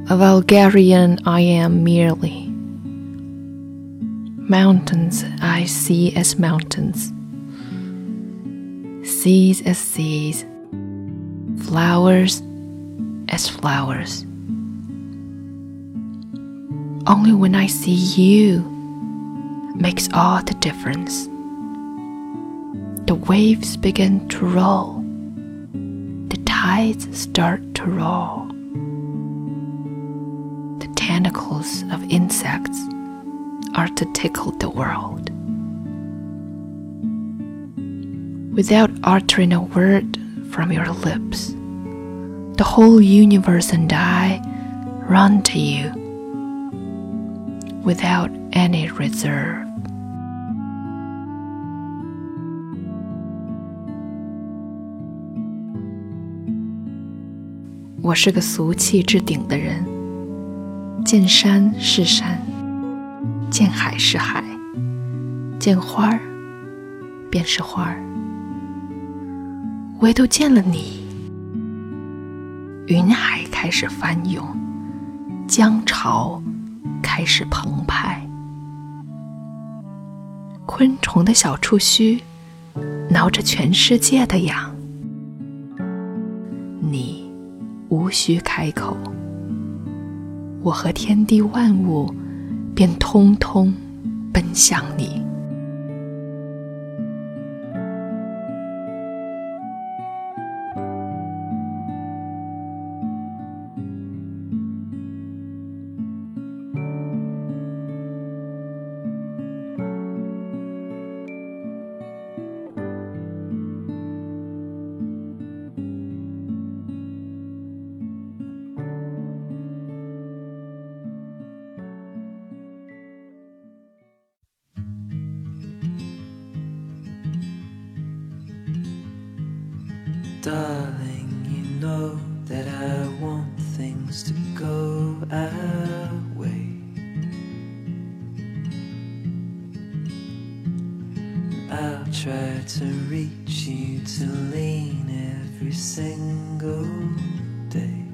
A vulgarian I am merely. Mountains I see as mountains, seas as seas, flowers as flowers. Only when I see you makes all the difference. The waves begin to roll, the tides start to roll. The tentacles of insects are to tickle the world. Without uttering a word from your lips, the whole universe and I run to you without any reserve. 我是个俗气至顶的人，见山是山，见海是海，见花儿便是花儿，唯独见了你，云海开始翻涌，江潮开始澎湃，昆虫的小触须挠着全世界的痒，你无需开口，我和天地万物便通通奔向你。 Darling, you know that I want things to go our way. I'll try to reach you to lean every single day.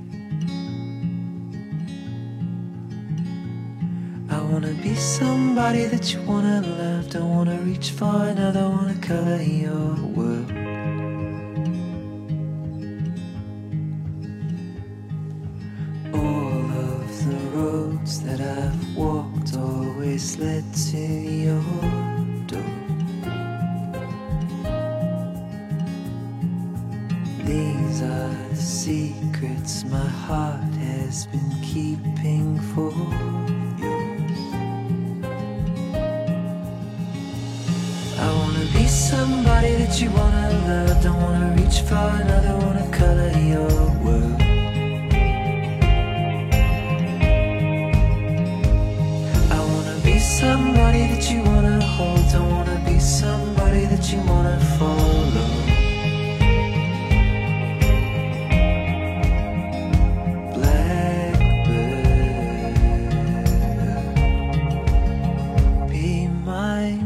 I wanna be somebody that you wanna love. Don't wanna reach for another, wanna color your world. That I've walked always led to your door. These are the secrets my heart has been keeping for yours. I wanna be somebody that you wanna love. Don't wanna reach for another, wanna color your world. Somebody that you wanna hold, don't wanna be somebody that you wanna follow. Blackbird, be mine.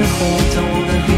hold, don't wanna